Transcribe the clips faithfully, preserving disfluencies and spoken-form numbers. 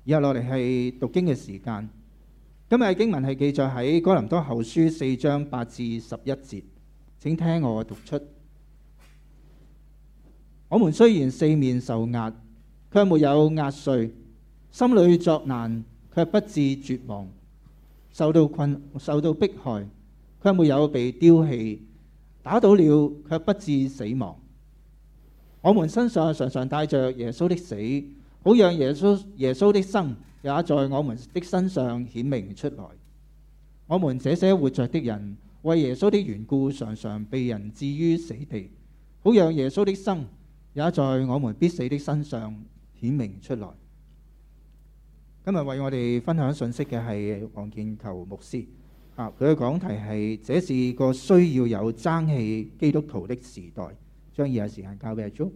以下落嚟係讀經嘅時間。今日嘅經文係記載喺哥林多後書四章八至十一節，請聽我讀出。我們雖然四面受壓，卻沒有壓碎；心裏作難，卻不至絕望；受到困、受到迫害，卻沒有被丟棄；打倒了，卻不至死亡。我們身上常常帶着耶穌的死，好讓耶穌耶穌的生也在我們的身上顯明出來。我們這些活着的人，為耶穌的緣故，常常被人置於死地，好讓耶穌的生也在我們必死的身上顯明出來。今日為我哋分享信息嘅係黃建球牧師，啊，佢嘅講題係：這是個需要有爭氣基督徒的時代。將以下時間交俾阿 Jo。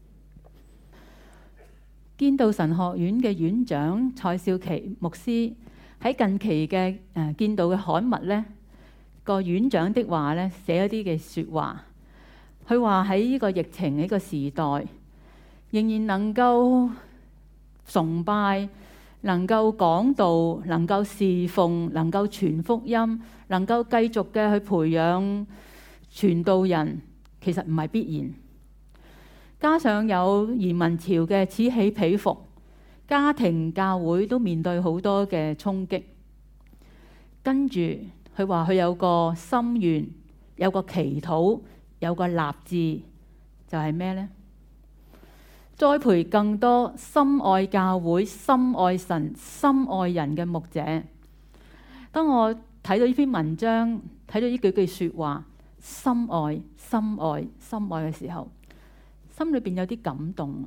堅道神學院嘅院長蔡少琪牧師喺近期嘅誒堅道嘅刊物呢個院長的話呢寫一啲嘅説話，佢話喺呢個疫情呢個時代，仍然能夠崇拜、能夠講道、能夠侍奉、能夠傳福音、能夠繼續嘅去培養傳道人，其實唔係必然。加上有移民潮嘅此起彼伏，家庭教會都面對好多嘅衝擊。跟住佢話佢有個心願，有個祈禱，有個立志，就係咩呢？栽培更多深愛教會、深愛神、深愛人嘅牧者。當我睇到呢篇文章，睇到呢幾句説話，深愛、深愛、深愛嘅時候，心裏邊有啲感動。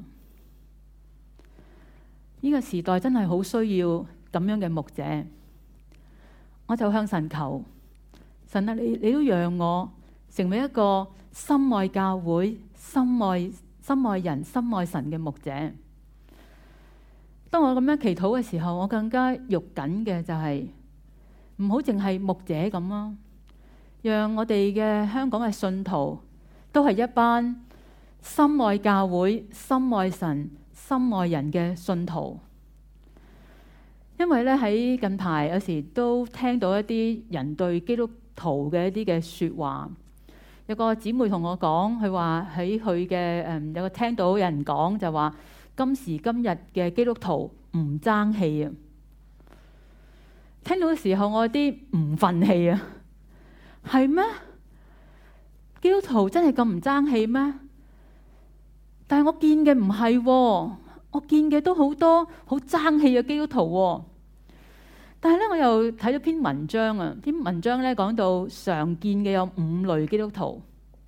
呢個時代真係好需要咁樣嘅牧者。我就向神求，神啊，你你都讓我成為一個深愛教會、深愛深愛人、深愛神嘅牧者。當我咁樣祈禱嘅時候，我更加肉緊嘅就係唔好淨係牧者咁咯，讓我哋嘅香港嘅信徒都係一班深愛教會、深愛神、深愛人嘅信徒。因為咧喺近排有時都聽到一啲人對基督徒嘅一啲嘅説話。有個姊妹同我講，佢話喺佢嘅誒有個聽到有人講就話，今時今日嘅基督徒唔爭氣啊！聽到嘅時候我有啲唔憤氣啊，係咩？基督徒真係咁唔爭氣咩？但係我見嘅唔係喎，我見嘅都好多好爭氣嘅基督徒喎。但係咧，我又睇咗篇文章啊，篇文章咧講到常見嘅有五類基督徒。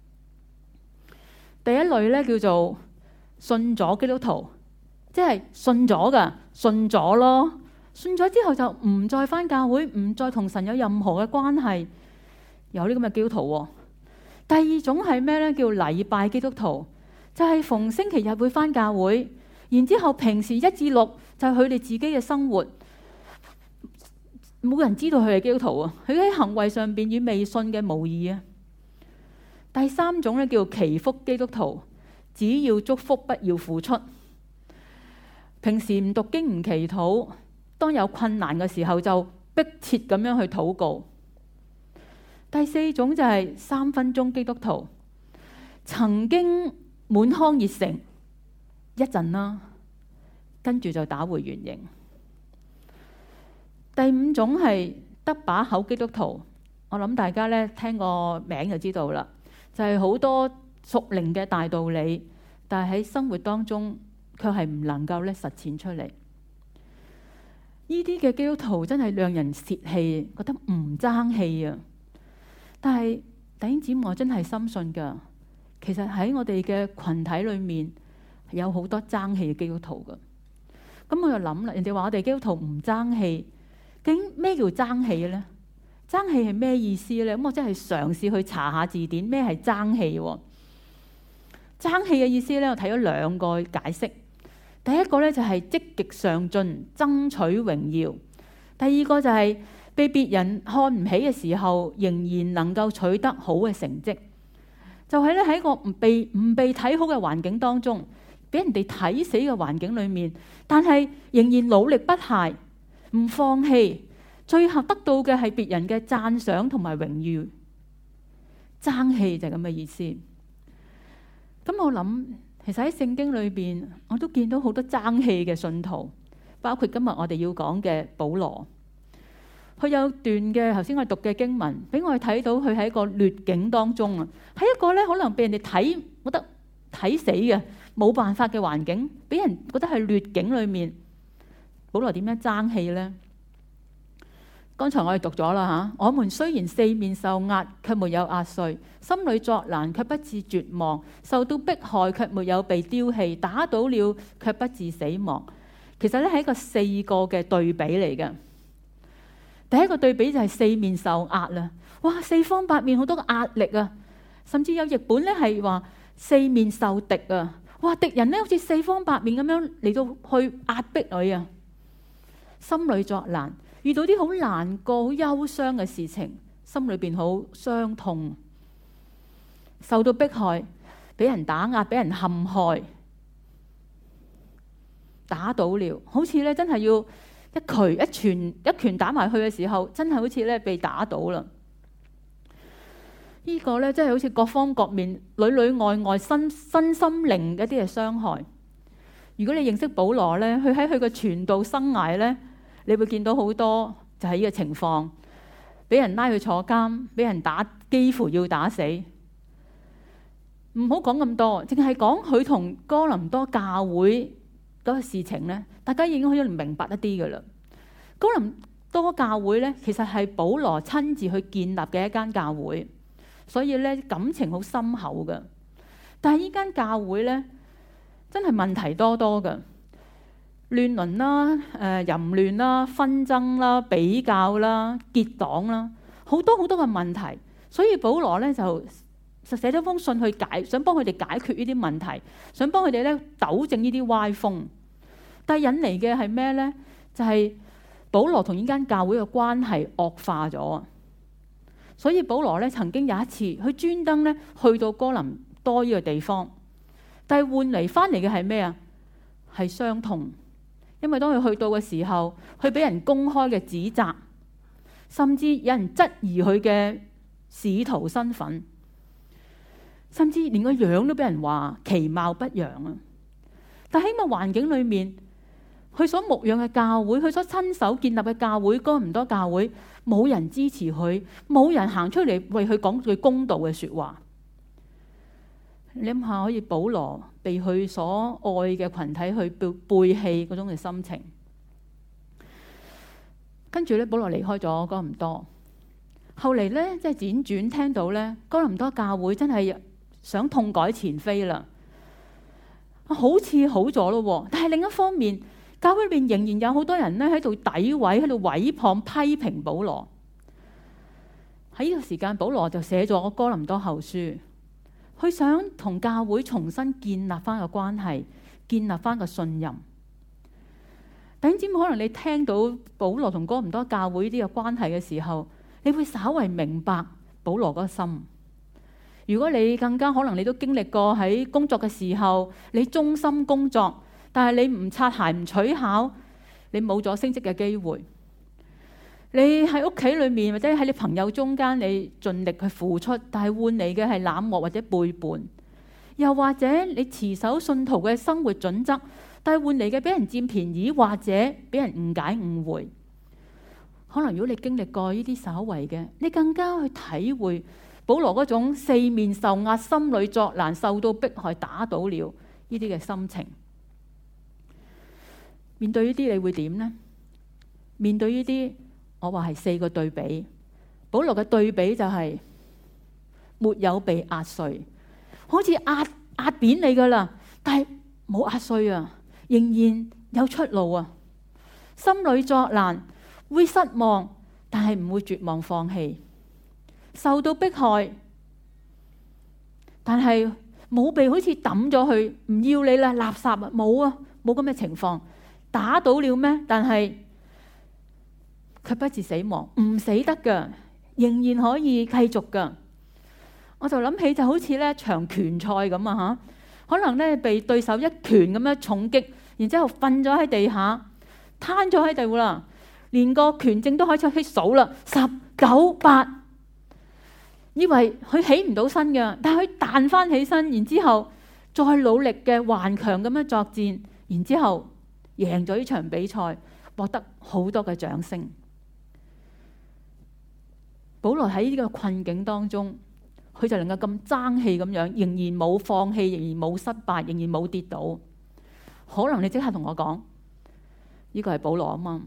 第一類咧叫做信咗基督徒，即係信咗㗎，信咗咯，信咗之後就唔再返教會，唔再同神有任何嘅關係，有呢咁嘅基督徒喎。第二種係咩咧？叫禮拜基督徒。就係逢星期日會返教會，然之後平時一至六就係佢哋自己嘅生活，冇人知道佢係基督徒啊！佢喺行為上邊與未信嘅無異啊！第三種咧叫祈福基督徒，只要祝福不要付出，平時唔讀經唔祈禱，當有困難嘅時候就迫切咁樣去禱告。第四種就係三分鐘基督徒，曾經滿腔熱誠一陣啦，跟住就打回原形。第五種係得把口基督徒，我諗大家咧聽個名就知道啦，就係好多屬靈嘅大道理，但係喺生活當中卻係唔能夠咧實踐出嚟。呢啲嘅基督徒真係讓人泄氣，覺得唔爭氣啊！但係弟兄姊妹，我真係深信㗎。其實喺我哋嘅群體裏面有好多爭氣嘅基督徒㗎。咁我就諗啦，人哋話我哋基督徒唔爭氣，究竟咩叫爭氣呢？爭氣係咩意思呢？咁我真係嘗試去查下字典，咩係爭氣喎？爭氣嘅意思呢，我睇咗兩個解釋。第一個呢，就係積極上進，爭取榮耀；第二個就係被別人看唔起嘅時候，仍然能夠取得好嘅成績。就係咧喺個唔被唔被睇好嘅環境當中， 俾人哋睇死嘅環境裏面，但係仍然努力不懈，唔放棄，最後得到嘅係別人嘅讚賞同埋榮譽。爭氣就係咁嘅意思。咁我諗，其實喺聖經裏邊，我都見到好多爭氣嘅信徒，包括今日我哋要講嘅保羅。佢有段嘅頭先我哋讀嘅經文，俾我哋睇到佢喺一個劣境當中啊，喺一個咧可能俾人哋睇覺得睇死嘅冇辦法嘅環境，俾人覺得係劣境裏面，保羅點樣爭氣呢？剛才我哋讀咗啦嚇，我們雖然四面受壓，卻沒有壓碎；心裏作難，卻不致絕望；受到迫害，卻沒有被丟棄；打倒了，卻不致死亡。其實咧係一個四個嘅對比嚟嘅。第一個對比就係四面受壓啦，哇！四方八面好多個壓力啊，甚至有譯本咧係話四面受敵啊，哇！敵人咧好似四方八面咁樣嚟到去壓迫佢啊，心裏作難。遇到啲好難過、好憂傷嘅事情，心裏邊好傷痛，受到迫害，俾人打壓、俾人陷害、打倒了，好似咧真係要一拳一拳一拳打埋去嘅時候，真係好似咧被打倒啦。呢個咧真係好似各方各面、裏裏外外、身身心靈一啲嘅傷害。如果你認識保羅咧，佢喺佢嘅傳道生涯咧，你會見到好多就係呢個情況，俾人拉去坐監，俾人打，幾乎要打死。唔好講咁多，淨係講佢同哥林多教會嗰個事情呢，大家已經可以明白一啲㗎啦。哥林多教會呢，其實係保羅親自去建立嘅一間教會，所以呢感情好深厚㗎。但係呢間教會呢，真係問題多多㗎。亂倫啦、誒、呃、淫亂啦、紛爭啦、比較啦、結黨啦，好多好多嘅問題。所以保羅咧就就寫咗封信去解，想幫佢哋解決呢啲問題，想幫佢哋咧糾正呢啲歪風。但係引嚟嘅係咩咧？就係、是、保羅同呢間教會嘅關係惡化咗。所以保羅咧曾經有一次，佢專登咧去到哥林多呢個地方，但係換嚟翻嚟嘅係咩啊？係傷痛。因為當佢去到嘅時候，佢俾人公開嘅指責，甚至有人質疑佢嘅使徒身份，甚至連個樣都俾人話其貌不揚啊！但喺個環境裏面，佢所牧養嘅教會，佢所親手建立嘅教會，哥林多教會，冇人支持佢，冇人行出嚟為佢講句公道嘅說話。你諗下，可以保羅被佢所愛嘅群體去背背棄嗰種嘅心情，跟住咧保羅離開咗哥林多，後嚟咧即係輾轉聽到咧哥林多教會真係想痛改前非啦，好似好咗咯，但係另一方面，教會裏面仍然有好多人咧喺度詆毀、喺度毀謗、批評保羅。喺呢個時間，保羅就寫咗哥林多後書。佢想同教會重新建立翻個關係，建立翻個信任。弟兄姊妹，可能你聽到保羅同哥林多教會呢啲嘅關係嘅時候，你會稍為明白保羅嗰個心。如果你更加可能你都經歷過喺工作嘅時候，你忠心工作，但係你唔擦鞋唔取巧，你冇咗升職嘅機會。你喺屋企裏面或者喺你朋友中間，你盡力去付出，但係換嚟嘅係冷漠或者背叛。又或者你持守信徒嘅生活準則，但係換嚟嘅俾人佔便宜或者俾人誤解誤會。可能如果你經歷過呢啲稍微嘅，你更加去體會保羅嗰種四面受壓、心裏作難、受到迫害、打倒了呢啲嘅心情。面對呢啲你會點呢？面對呢啲，我話係四個對比。保羅嘅對比就係沒有被壓碎，好似壓壓扁你噶啦，但係冇壓碎啊，仍然有出路啊。心裏作難，會失望，但係唔會絕望放棄。受到迫害，但係冇被好似抌咗去，唔要你啦，垃圾啊，冇啊，冇咁嘅情況。打倒了咩？但係卻不致死亡，唔死得噶，仍然可以繼續噶。我就諗起就好似咧場拳賽咁啊吓， 可能咧被對手一拳咁樣重擊，然之後瞓咗喺地下，攤咗喺度啦，連個拳證都開始去數啦，十九八，以為佢起唔到身嘅，但係佢彈翻起身，然之後再努力嘅頑強咁樣作戰，然之後贏咗呢場比賽，獲得好多嘅掌聲。保羅喺呢個困境當中，佢就能夠咁爭氣咁樣，仍然冇放棄，仍然冇失敗，仍然冇跌倒。可能你即刻同我講，呢個係保羅啊嘛。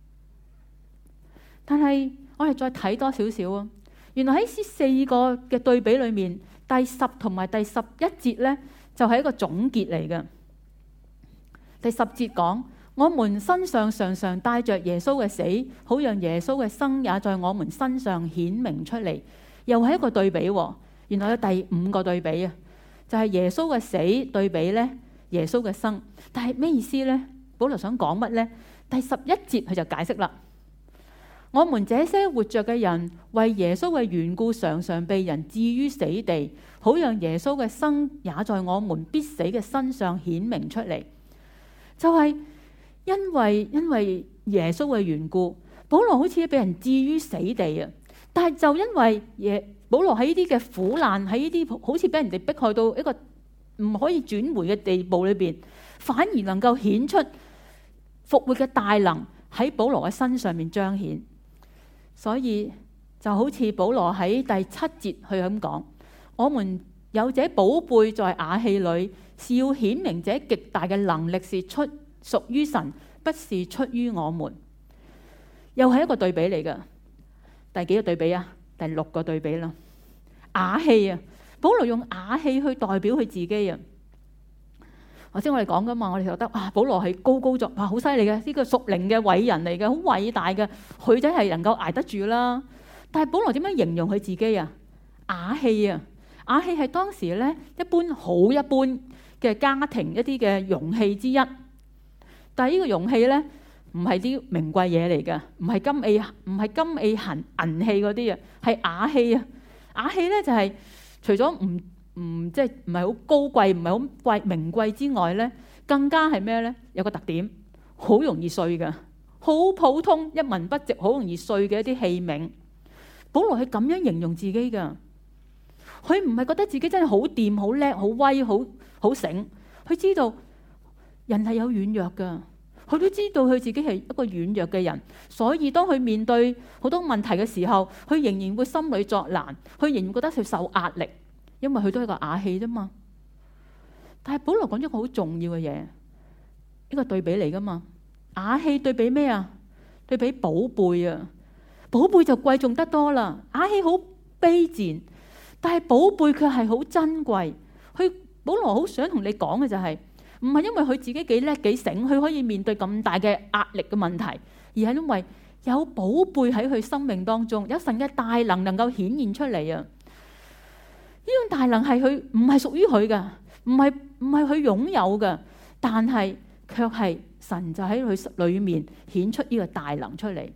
但係我哋再睇多少少啊，原來喺呢四個嘅對比裏面，第十同埋第十一節呢，就係一個總結嚟嘅。第十節講，我們身上常常帶着耶穌嘅死，好讓耶穌嘅生也在我們身上顯明出嚟。又係一個對比喎。原來有第五個對比啊，就係耶穌嘅死對比咧耶穌嘅生。但係咩意思呢？保羅想講乜呢？第十一節佢就解釋啦。我們這些活着嘅人，為耶穌嘅緣故，常常被人置於死地，好讓耶穌嘅生也在我們必死嘅身上顯明出嚟。就係、是、因為因為耶穌嘅緣故，保羅好似被人置於死地啊！但係就因為耶保羅喺呢啲嘅苦難，喺呢啲好似俾人哋迫害到一個唔可以轉回嘅地步裏邊，反而能夠顯出復活嘅大能喺保羅嘅身上面彰顯。所以就好似保羅喺第七節去咁講，我們有這寶貝在瓦器裏，是要顯明這極大嘅能力是出屬於神，不是出於我們。又係一個對比嚟㗎。第幾個對比啊？第六個對比啦。瓦器啊，保羅用瓦器去代表佢自己啊。頭先我哋講噶嘛，我哋覺得啊，保羅係高高在，哇，好犀利嘅，呢個屬靈嘅偉人嚟嘅，好偉大嘅，佢真係能夠捱得住啦。但係保羅點樣形容佢自己啊？瓦器啊，瓦器係當時咧一般好一般嘅家庭一啲嘅容器之一。但係呢個容器咧唔係啲名貴嘢嚟嘅，唔係金器，唔係金器銀銀器嗰啲啊，係瓦器啊。瓦器咧就係、是、除咗唔唔即係唔係好高貴，唔係好貴名貴之外咧，更加係咩咧？有個特點，好容易碎嘅，好普通一文不值，好容易碎嘅一啲器皿。保羅係咁樣形容自己噶，佢唔係覺得自己真係好掂、好叻、好威、好好醒。佢知道人係有軟弱噶，佢都知道佢自己係一個軟弱嘅人，所以當佢面對好多問題嘅時候，佢仍然會心裏作難，佢仍然覺得佢受壓力。因為佢都係個瓦器啫嘛，但係保羅講咗個好重要嘅嘢，呢個對比嚟噶嘛。瓦器對比咩啊？對比寶貝啊，寶貝就貴重得多啦。瓦器好卑賤，但係寶貝卻係好珍貴。佢保羅好想同你講嘅就係、是，唔係因為佢自己幾叻幾醒，佢可以面對咁大嘅壓力嘅問題，而係因為有寶貝喺佢生命當中，有神嘅大能能夠顯現出嚟啊！呢種大能係佢唔係屬於佢嘅，唔係唔係佢擁有嘅，但係卻係神就喺佢裏面顯出呢個大能出嚟。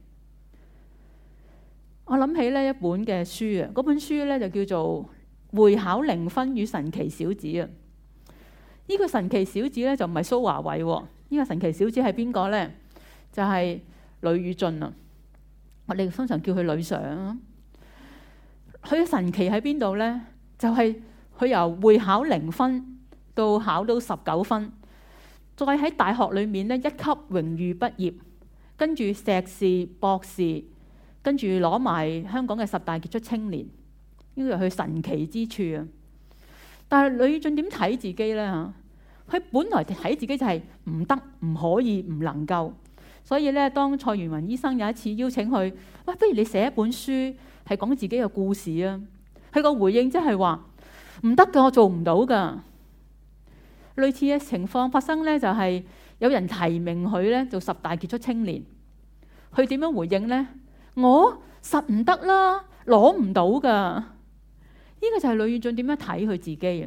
我諗起呢一本嘅書啊，嗰本書咧就叫做《會考零分與神奇小子》啊。呢個神奇小子咧就唔係蘇華偉喎，呢個神奇小子係邊個咧？就係呂宇俊啊。我哋通常叫佢呂 Sir。佢嘅神奇喺邊度咧？就係佢由會考零分到考到十九分，再喺大學裏面咧一級榮譽畢業，跟住碩士、博士，跟住攞埋香港嘅十大傑出青年，呢個係佢神奇之處啊！但係呂宇俊點睇自己咧嚇？佢本來睇自己就係唔得、唔可以、唔能夠，所以咧當蔡元雲醫生有一次邀請佢，喂，不如你寫一本書係講自己嘅故事啊！佢個回應即係話唔得㗎，我做唔到㗎。類似嘅情況發生咧，就係有人提名佢咧做十大傑出青年，佢點樣回應咧？我實唔得啦，攞唔到㗎。呢個就係呂宇俊點樣睇佢自己啊？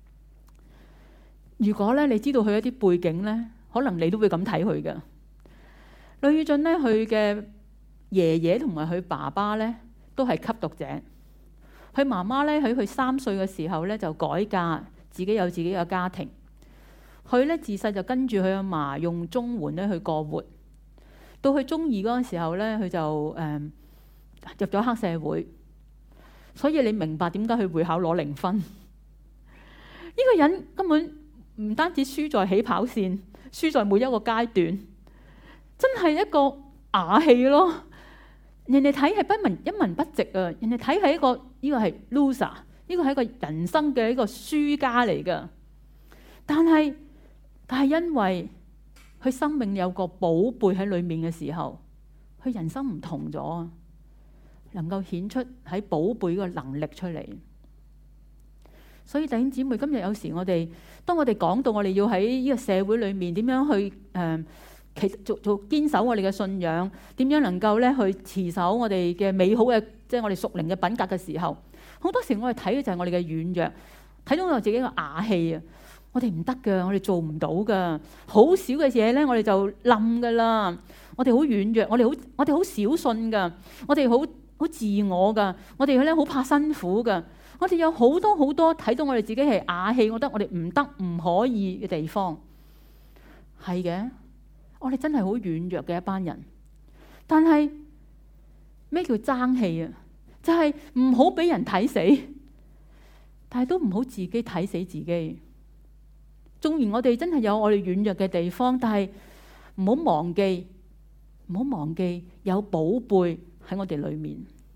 如果咧你知道佢一啲背景咧，可能你都會咁睇佢㗎。呂宇俊咧，佢嘅爺爺同埋佢爸爸咧都係吸毒者。佢媽媽咧喺佢三歲嘅時候咧就改嫁， 自己有自己嘅家庭。佢咧自細就跟住佢阿嫲用綜援咧去過活。到佢中二嗰陣時候咧，佢就誒、嗯、入咗黑社會。所以你明白點解佢會考攞零分？呢、這個人根本唔單止輸在起跑線，輸在每一個階段，真係一個啞氣咯。人哋睇係不文一文不值啊！人哋睇係一個呢、這個係 loser， 呢個係一個人生嘅一個輸家嚟㗎。但係但係因為佢生命有個寶貝喺裏面嘅時候，佢人生唔同咗，能夠顯出喺寶貝個能力出嚟。所以弟兄姊妹，今日有時我哋當我哋講到我哋要喺呢個社會裏面點樣去誒、呃，其實做做堅守我哋嘅信仰，點樣能夠咧去持守我哋嘅美好嘅，即係我哋屬靈嘅品格嘅時候，好多時我哋睇嘅就係我哋嘅軟弱，睇到我自己嘅啞氣啊！我哋唔得㗎，我哋做唔到㗎，好少嘅嘢咧，我哋就冧㗎啦。我哋好軟弱，我哋好我哋好小信㗎，我哋好好自我㗎，我哋咧好怕辛苦㗎。我哋有好多好多睇到我哋自己係啞氣，我覺得我哋唔得唔可以嘅地方，係嘅。我哋真係好軟弱嘅一班人。但係咩叫爭氣啊？就係唔好俾人睇死，但係都唔好自己睇死自己。縱然我哋真係有我哋軟弱嘅地方，但係唔好忘記，唔好忘記有寶貝喺我哋裏面。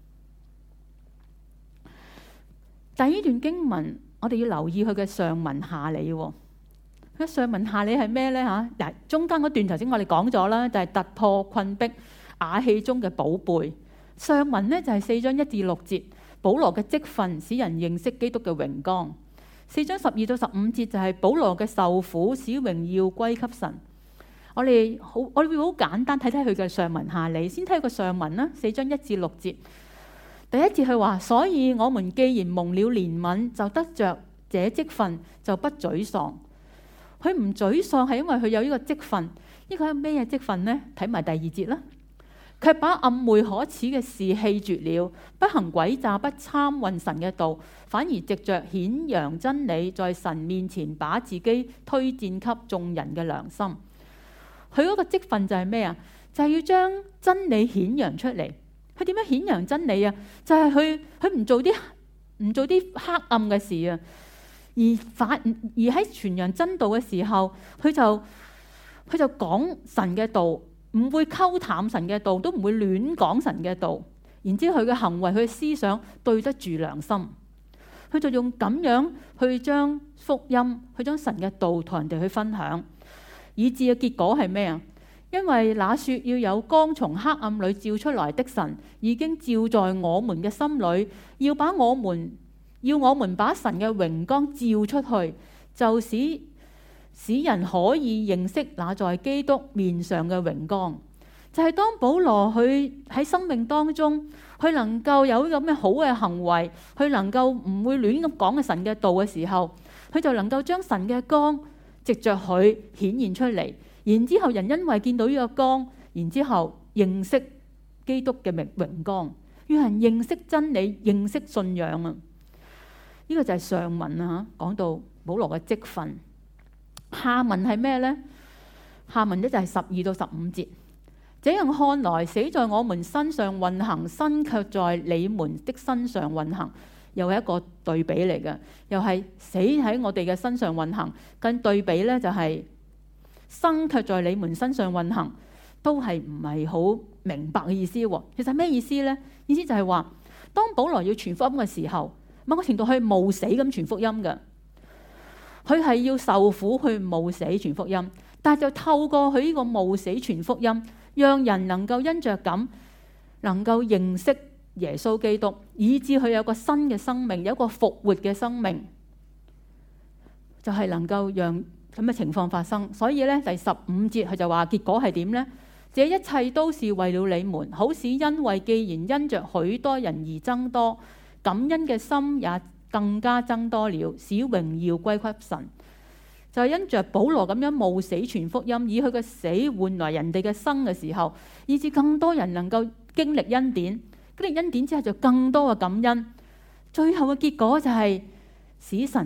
但係呢段經文，我哋要留意佢嘅上文下理。佢嘅上文下理係咩呢？嚇嗱，中間嗰段頭先我哋講咗啦，就係突破困迫啞氣中嘅寶貝。上文呢，就係四章一至六節，保羅嘅職分使人認識基督嘅榮光。四章十二到十五節就係保羅嘅受苦使榮耀歸給神。我哋好，我哋會好簡單睇睇佢嘅上文下理。先睇個上文啦，四章一至六節。第一節佢話：所以我們既然蒙了憐憫，就得着這職分，就不沮喪。佢唔沮喪係因為佢有呢個職分。呢個係咩職分呢？睇埋第二節啦。卻把暗昧可恥嘅事棄絕了，不行詭詐，不參混神嘅道，反而藉着顯揚真理，在神面前把自己推薦給眾人嘅良心。佢嗰個職分就係咩啊？就係、是、要將真理顯揚出嚟。佢點樣顯揚真理啊？就係佢佢唔做啲唔做啲黑暗嘅事啊，而反而喺傳揚真道嘅時候，佢就佢就講神嘅道。唔會溝淡神嘅道，都唔會亂講神嘅道。然之後佢嘅行為、佢嘅思想對得住良心，佢就用咁樣去將福音、去將神嘅道同人哋去分享，以致嘅結果係咩啊？因為那說要有光從黑暗裏照出來的神，已經照在我們嘅心裏，要把我們要我們把神嘅榮光照出去，就使使人可以認識那在基督面上嘅榮光。就係、是、當保羅佢喺生命當中，佢能夠有咁嘅好嘅行為，佢能夠唔會亂咁講嘅神嘅道嘅時候，佢就能夠將神嘅光藉着佢顯現出嚟。然之後人因為見到呢個光，然之後認識基督嘅榮榮光，讓人認識真理、認識信仰啊！呢、這個就係上文啊，講到保羅嘅職分。下文係咩呢？下文呢就係十二到十五節。這樣看來，死在我們身上運行，生卻在你們的身上運行，又係一個對比嚟嘅。又係死喺我哋嘅身上運行，跟對比呢就係生卻在你們身上運行，都係唔係好明白嘅意思喎。其實咩意思呢？意思就係話，當保羅要傳福音嘅時候，某個程度係冒死咁傳福音嘅。佢係要受苦去冒死傳福音，但係就透過佢呢個冒死傳福音，讓人能夠因着咁能夠認識耶穌基督，以致佢有個新嘅生命，有一個復活嘅生命，就係、是、能夠讓咁嘅情況發生。所以咧，第十五節佢就話結果係點呢？這一切都是為了你們，好使因為既然因着許多人而增多，感恩嘅心也更加增多了，使榮耀歸給神。就係、是、因着保羅咁樣冒死傳福音，以佢嘅死換來人哋嘅生嘅時候，以致更多人能夠經歷恩典，經歷恩典之後就更多嘅感恩。最後嘅結果就係使神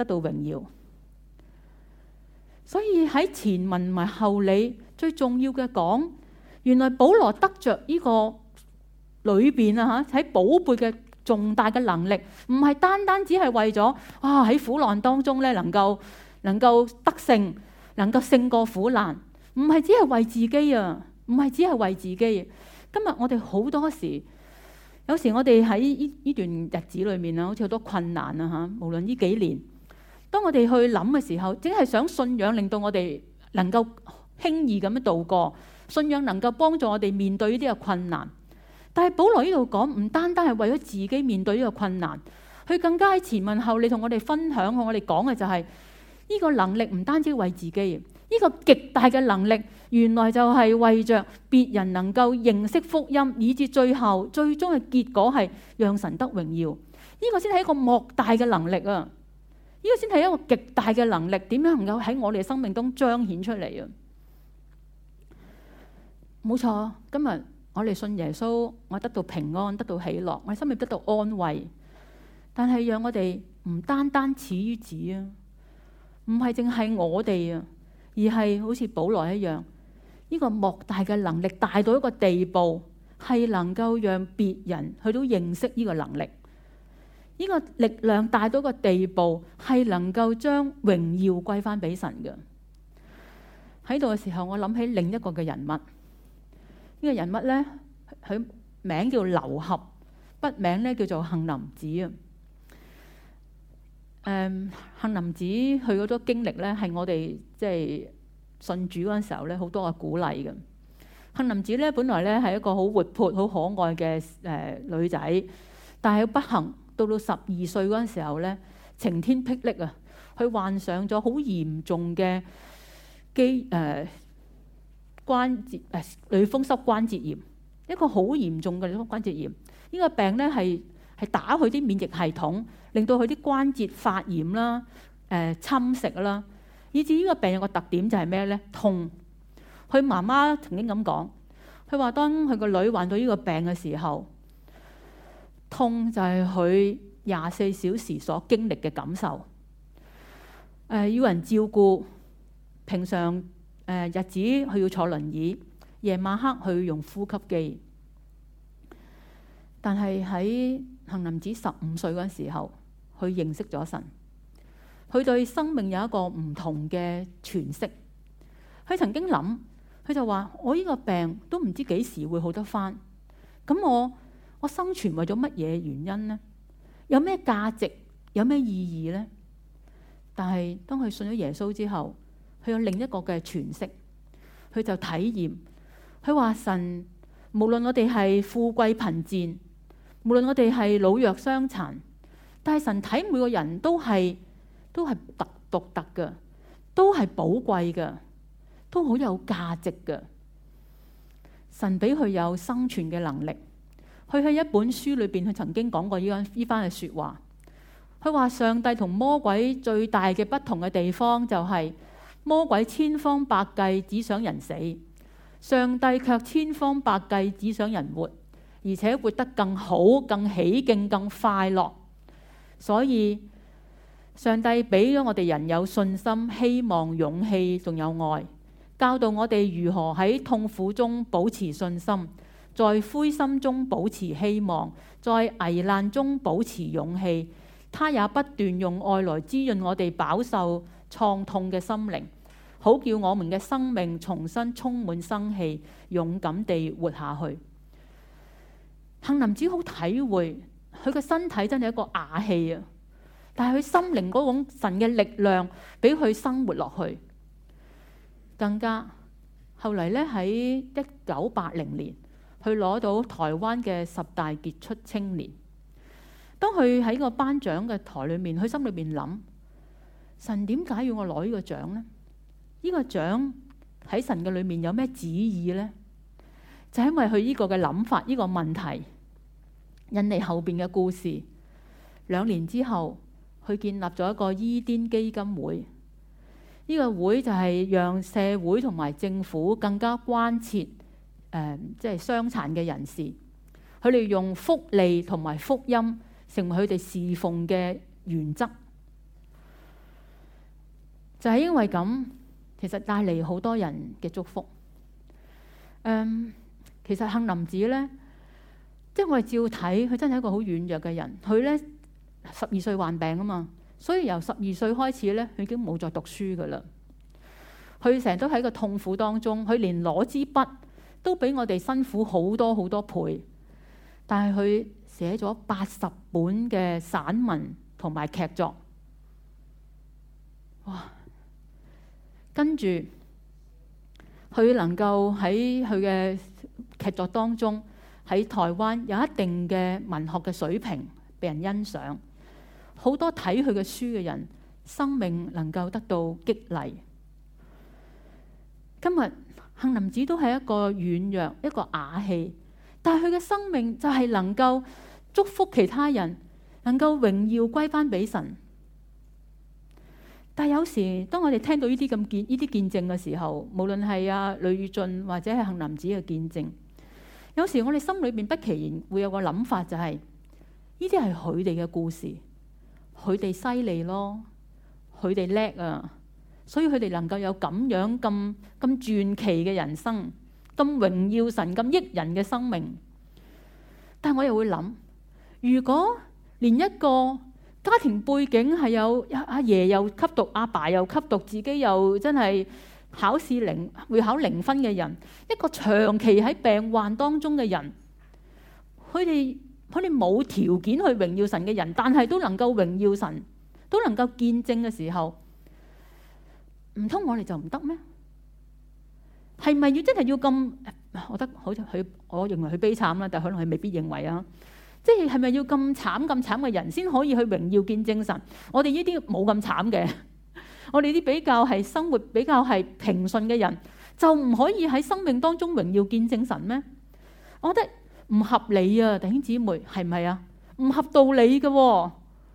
得到榮耀。所以喺前文同埋後理最重要嘅講，原來保羅得着呢個裏邊啊嚇喺寶貝嘅重大嘅能力，唔係單單只係為咗啊喺苦難當中咧能夠能夠得勝，能夠勝過苦難，唔係只係為自己啊，唔係只係為自己。今日我哋好多時，有時我哋喺呢呢段日子裏面啊，好似好多困難啊嚇，無論呢幾年。當我哋去諗嘅時候，只係想信仰令到我哋能夠輕易咁樣度過，信仰能夠幫助我哋面對呢啲嘅困難。但係保羅呢度講，唔單單係為咗自己面對呢個困難，佢更加喺前文後理同我哋分享，同我哋講嘅就係呢個能力唔單止為自己，呢個極大嘅能力原來就係為着別人能夠認識福音，以至最後最終嘅結果係讓神得榮耀。呢個先係一個莫大嘅能力啊！呢個先係一個極大嘅能力，點樣能夠喺我哋嘅生命中彰顯出嚟啊？冇錯，今日我哋信耶穌，我得到平安，得到喜樂，我哋心裏得到安慰。但係讓我哋唔單單止於此啊，唔係淨係我哋啊，而係好似保羅一樣，呢個莫大嘅能力大到一個地步，係能夠讓別人去到認識呢個能力。呢個力量大到個地步，係能夠將榮耀歸翻俾神嘅。喺度嘅時候，我諗起另一個嘅人物。呢個人物咧，佢名叫劉俠，筆名咧叫做杏林子啊。誒，杏林子佢嗰種經歷咧，係我哋即係信主嗰陣時候咧，好多嘅鼓勵嘅。杏林子咧，本來咧係一個好活潑、好可愛嘅誒女仔，但係不幸。到到十二歲嗰陣時候咧，晴天霹靂啊！佢患上咗好嚴重嘅肌誒關節誒類風濕關節炎，一個好嚴重嘅類風濕關節炎。呢、這個病咧係係打佢啲免疫系統，令到佢啲關節發炎啦、誒、呃、侵蝕啦，以至呢個病有個特點就係咩咧？痛。佢媽媽曾經咁講，佢話當佢個女患到呢個病嘅時候，痛就係佢廿四小時所經歷嘅感受。誒、呃，要人照顧，平常誒、呃、日子佢要坐輪椅，夜晚黑佢要用呼吸機。但係喺杏林子十五歲嗰時候，佢認識咗神，佢對生命有一個唔同嘅詮釋。佢曾經諗，佢就話：我呢個病都唔知幾時會好得返，咁我。我生存為咗乜嘢原因呢？有咩價值？有咩意義呢？但係當佢信咗耶穌之後，佢有另一個嘅詮釋，佢就體驗。佢話神無論我哋係富貴貧賤，無論我哋係老弱傷殘，但係神睇每個人都係都係特獨特嘅，都係寶貴嘅，都好有價值嘅。神俾佢有生存嘅能力。佢喺一本書裏邊，佢曾經講過呢番呢番嘅説話。佢話上帝同魔鬼最大嘅不同嘅地方就係魔鬼千方百計只想人死，上帝卻千方百計只想人活，而且活得更好、更起勁、更快樂。所以上帝俾咗我哋人有信心、希望、勇氣，仲有愛，教導我哋如何喺痛苦中保持信心，在灰心中保持希望，在危難中保持勇氣。他也不斷用愛來滋潤我哋飽受創痛嘅心靈，好叫我們嘅生命重新充滿生氣，勇敢地活下去。杏林子好體會，佢個身體真係一個瓦器啊，但係佢心靈嗰種神嘅力量俾佢生活落去。更加後嚟咧，喺一九八零年，佢攞到台灣嘅十大傑出青年。當佢喺個頒獎嘅台裏面，佢心裏面諗：神點解要我攞呢個獎呢？呢個獎喺神嘅裏面有咩旨意呢？就係因為佢呢個嘅諗法，呢個問題引嚟後邊嘅故事。兩年之後，佢建立咗一個伊甸基金會。呢個會就係讓社會同埋政府更加關切誒，即係傷殘嘅人士。佢哋用福利同埋福音成為佢哋侍奉嘅原則。 就係因為咁，其實帶嚟好多人嘅祝福。嗯，其實杏林子咧，即係我哋照睇，佢真係一個好軟弱嘅人。佢咧十二歲患病啊嘛，所以由十二歲開始咧，佢已經冇再讀書噶啦。佢成日都喺個痛苦當中，佢連攞支筆都比我哋辛苦好多好多倍。但係佢寫咗八十本嘅散文同埋劇作，哇！跟住佢能夠喺佢嘅劇作當中，喺台灣有一定嘅文學嘅水平，被人欣賞。好多睇佢嘅書嘅人，生命能夠得到激勵。今日杏林子都係一個軟弱、一個啞氣，但係佢嘅生命就係能夠祝福其他人，能夠榮耀歸翻俾神。但係有時當我哋聽到呢啲咁見呢啲見證嘅時候，無論係阿呂宇俊或者係杏林子嘅見證，有時我哋心裏邊不其然會有個諗法，就係呢啲係佢哋嘅故事，佢哋犀利咯，佢哋叻啊！所以佢哋能夠有咁樣咁咁傳奇嘅人生，咁榮耀神、咁益人嘅生命。但係我又會諗，如果連一個家庭背景係有阿爺又吸毒，阿爸又吸毒，自己又真係考試零會考零分嘅人，一個長期喺病患當中嘅人，佢哋佢哋冇條件去榮耀神嘅人，但係都能夠榮耀神，都能夠見證嘅時候，唔通我哋就唔得咩？係咪要真係要咁？我覺得好似佢，我認為佢悲慘啦，但係可能佢未必認為啊。即係係咪要咁慘咁慘嘅人先可以去榮耀見證神？我哋呢啲冇咁慘嘅，我哋啲比較係生活比較係平順嘅人，就唔可以喺生命當中榮耀見證神咩？我覺得唔合理啊，弟兄姊妹，係咪啊？唔合道理嘅喎，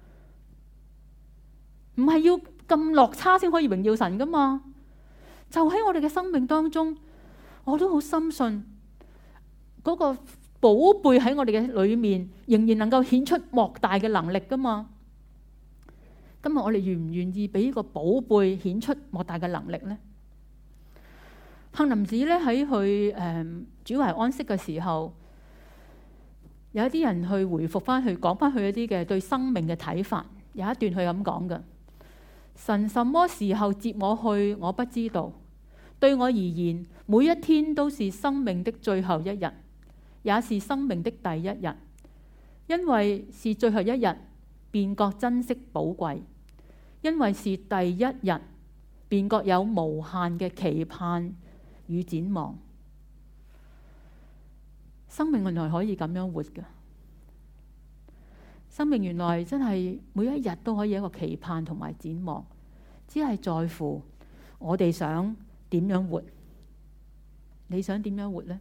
唔係要咁落差先可以榮耀神噶嘛？就喺我哋嘅生命當中，我都好深信嗰個寶貝喺我哋嘅裏面，仍然能夠顯出莫大嘅能力噶嘛？今日我哋願唔願意俾呢個寶貝顯出莫大嘅能力呢？杏林子咧喺佢誒主懷安息嘅時候，有一啲人去回復翻去講翻佢一啲嘅對生命嘅睇法，有一段佢咁講嘅。神什麼時候接我去，我不知道。對我而言，每一天都是生命的最後一日，也是生命的第一日。因為是最後一日，便覺珍惜寶貴；因為是第一日，便覺有無限嘅期盼與展望。生命原來可以咁樣活嘅，生命原來真係每一日都可以有一個期盼同埋展望，只係在乎我哋想點樣活。你想點樣活呢？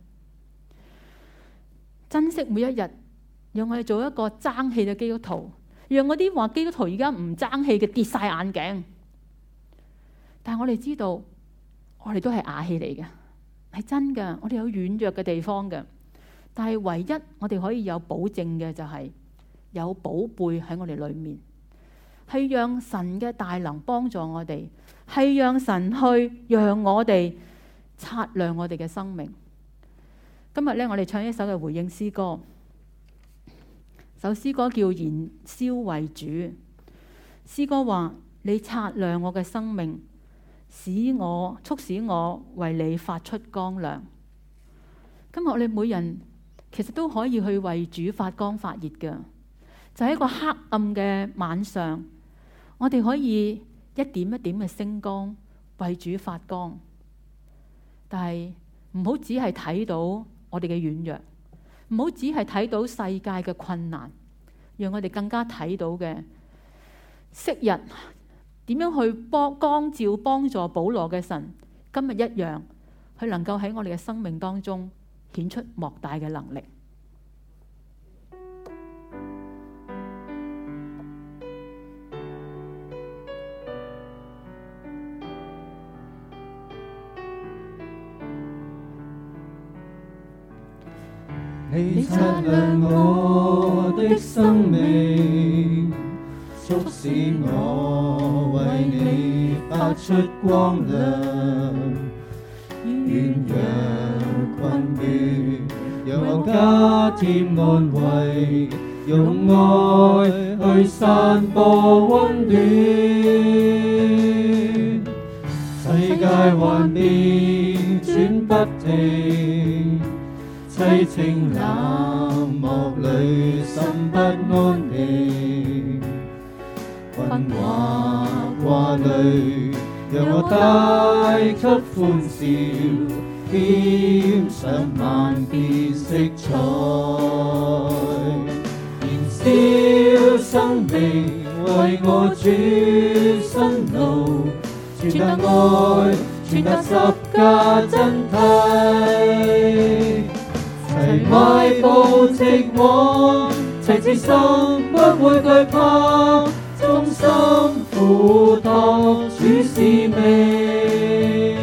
珍惜每一日，讓我哋做一個爭氣嘅基督徒，讓嗰啲話基督徒而家唔爭氣嘅跌晒眼鏡。但係我哋知道，我哋都係啞氣嚟嘅，係真嘅。我哋有軟弱嘅地方嘅，但係唯一我哋可以有保證嘅就係有寶貝喺我哋裏面，係讓神嘅大能幫助我哋，係讓神去讓我哋擦亮我哋嘅生命。今日咧，我哋唱一首嘅回應詩歌，首詩歌叫《燃燒為主》。詩歌話：你擦亮我嘅生命，使我促使我為你發出光亮。今日我哋每人其實都可以去為主發光發熱嘅，就喺一個黑暗嘅晚上，我哋可以一點一點嘅星光為主發光。但係唔好只係睇到我哋嘅軟弱，唔好只係睇到世界嘅困難，讓我哋更加睇到嘅昔日點樣去幫光照幫助保羅嘅神，今日一樣，佢能夠喺我哋嘅生命當中顯出莫大嘅能力。 你擦亮我的生命，促使我為你發出光亮。軟弱困倦，讓我加添安慰，用愛去散播溫暖。世界幻變轉不停，凄清冷漠裏心不安定，困惑掛慮，讓我帶給歡笑，添上萬變色彩，燃燒生命為我主辛勞，傳達愛，傳達十架真諦，齊邁步直往，齊至心不會懼怕，忠心付託主使命。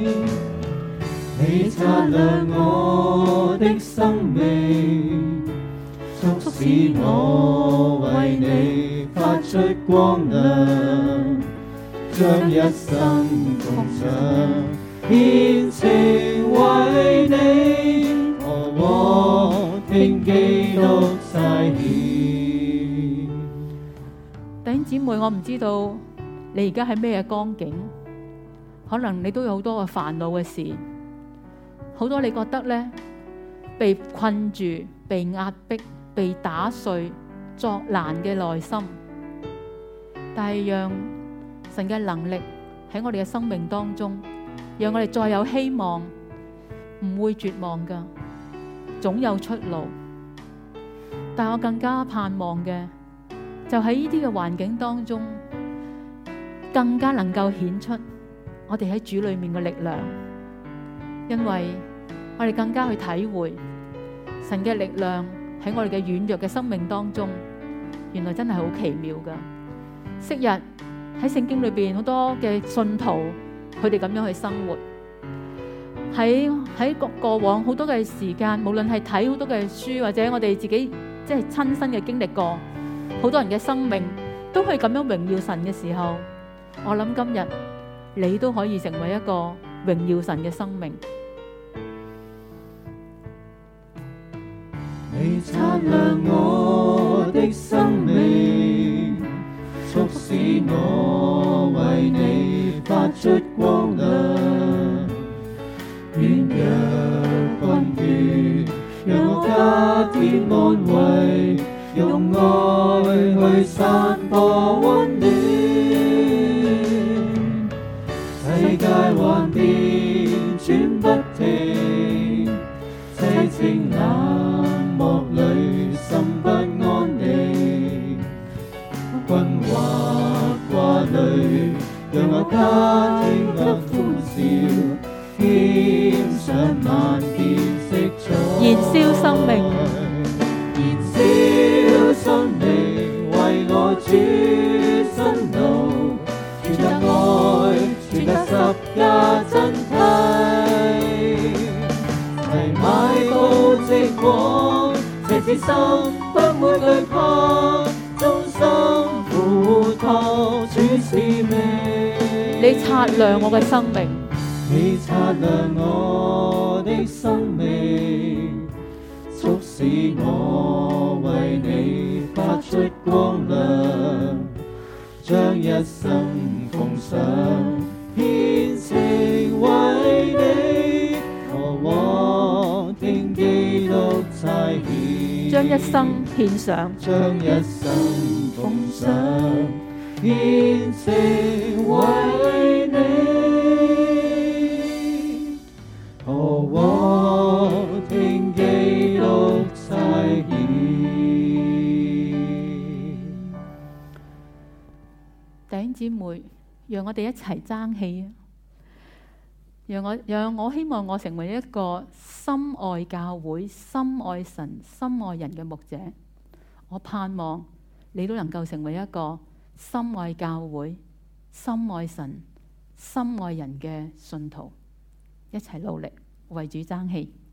你擦亮我的生命，促使我為你發出光亮，將一生奉上，獻情為你，何往聽基督差遣。 弟兄姊妹，我唔知道你而家喺咩光景，可能你都有好多嘅煩惱嘅事，好多你覺得咧被困住、被壓迫、被打碎、作難嘅內心，但係讓神嘅能力喺我哋嘅生命當中，讓我哋再有希望，唔會絕望噶，總有出路。但我更加盼望嘅，就喺呢啲嘅環境當中，更加能夠顯出我哋喺主裏面嘅力量，因為我哋更加去體會神嘅力量喺我哋嘅軟弱嘅生命當中，原來真係好奇妙噶。昔日喺聖經裏邊好多嘅信徒，佢哋咁樣去生活，喺喺過過往好多嘅時間，無論係睇好多嘅書，或者我哋自己即係親身嘅經歷過，好多人嘅生命都可以咁樣榮耀神嘅時候，我諗今日你都可以成為一個榮耀神嘅生命。 你擦亮我的生命，促使我為你發出光亮，軟弱困倦，讓我加添安慰，用愛去散播溫暖。世界幻變轉不停，凄清冷漠裏心不安定，困惑掛慮，讓我加添得歡笑，添上萬變色彩， 燃燒生命， 燃燒生命為我主辛勞，傳達愛，傳達十架真諦，齊邁步直往，齊至心不會懼怕，忠心付託主使命。 你擦亮我嘅生命， 你擦亮我的生命，促使我為你發出光亮，將一生奉上，獻情為你，何往聽基督差遣。 將一生獻上， 將一生奉上，獻情為你，何往聽基督差遣。 弟兄姊妹，讓我哋一齊爭氣啊！讓我讓我希望我成為一個深愛教會、深愛神、深愛人嘅牧者。我盼望你都能夠成為一個深愛教會、深愛神、深愛人嘅信徒，一齊努力為主爭氣。